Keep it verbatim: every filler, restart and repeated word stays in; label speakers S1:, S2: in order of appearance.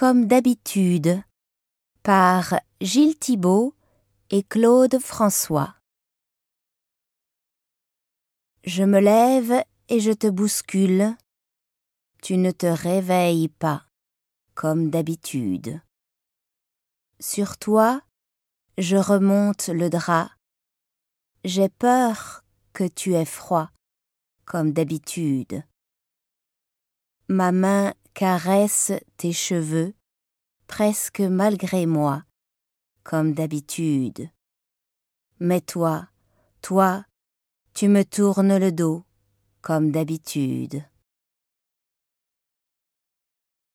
S1: comme d'habitude, par Gilles Thibault et Claude François. Je me lève et je te bouscule, tu ne te réveilles pas, comme d'habitude. Sur toi, je remonte le drap, j'ai peur que tu aies froid, comme d'habitude. Ma main caresse tes cheveux, presque malgré moi, comme d'habitude. Mais toi, toi, tu me tournes le dos, comme d'habitude.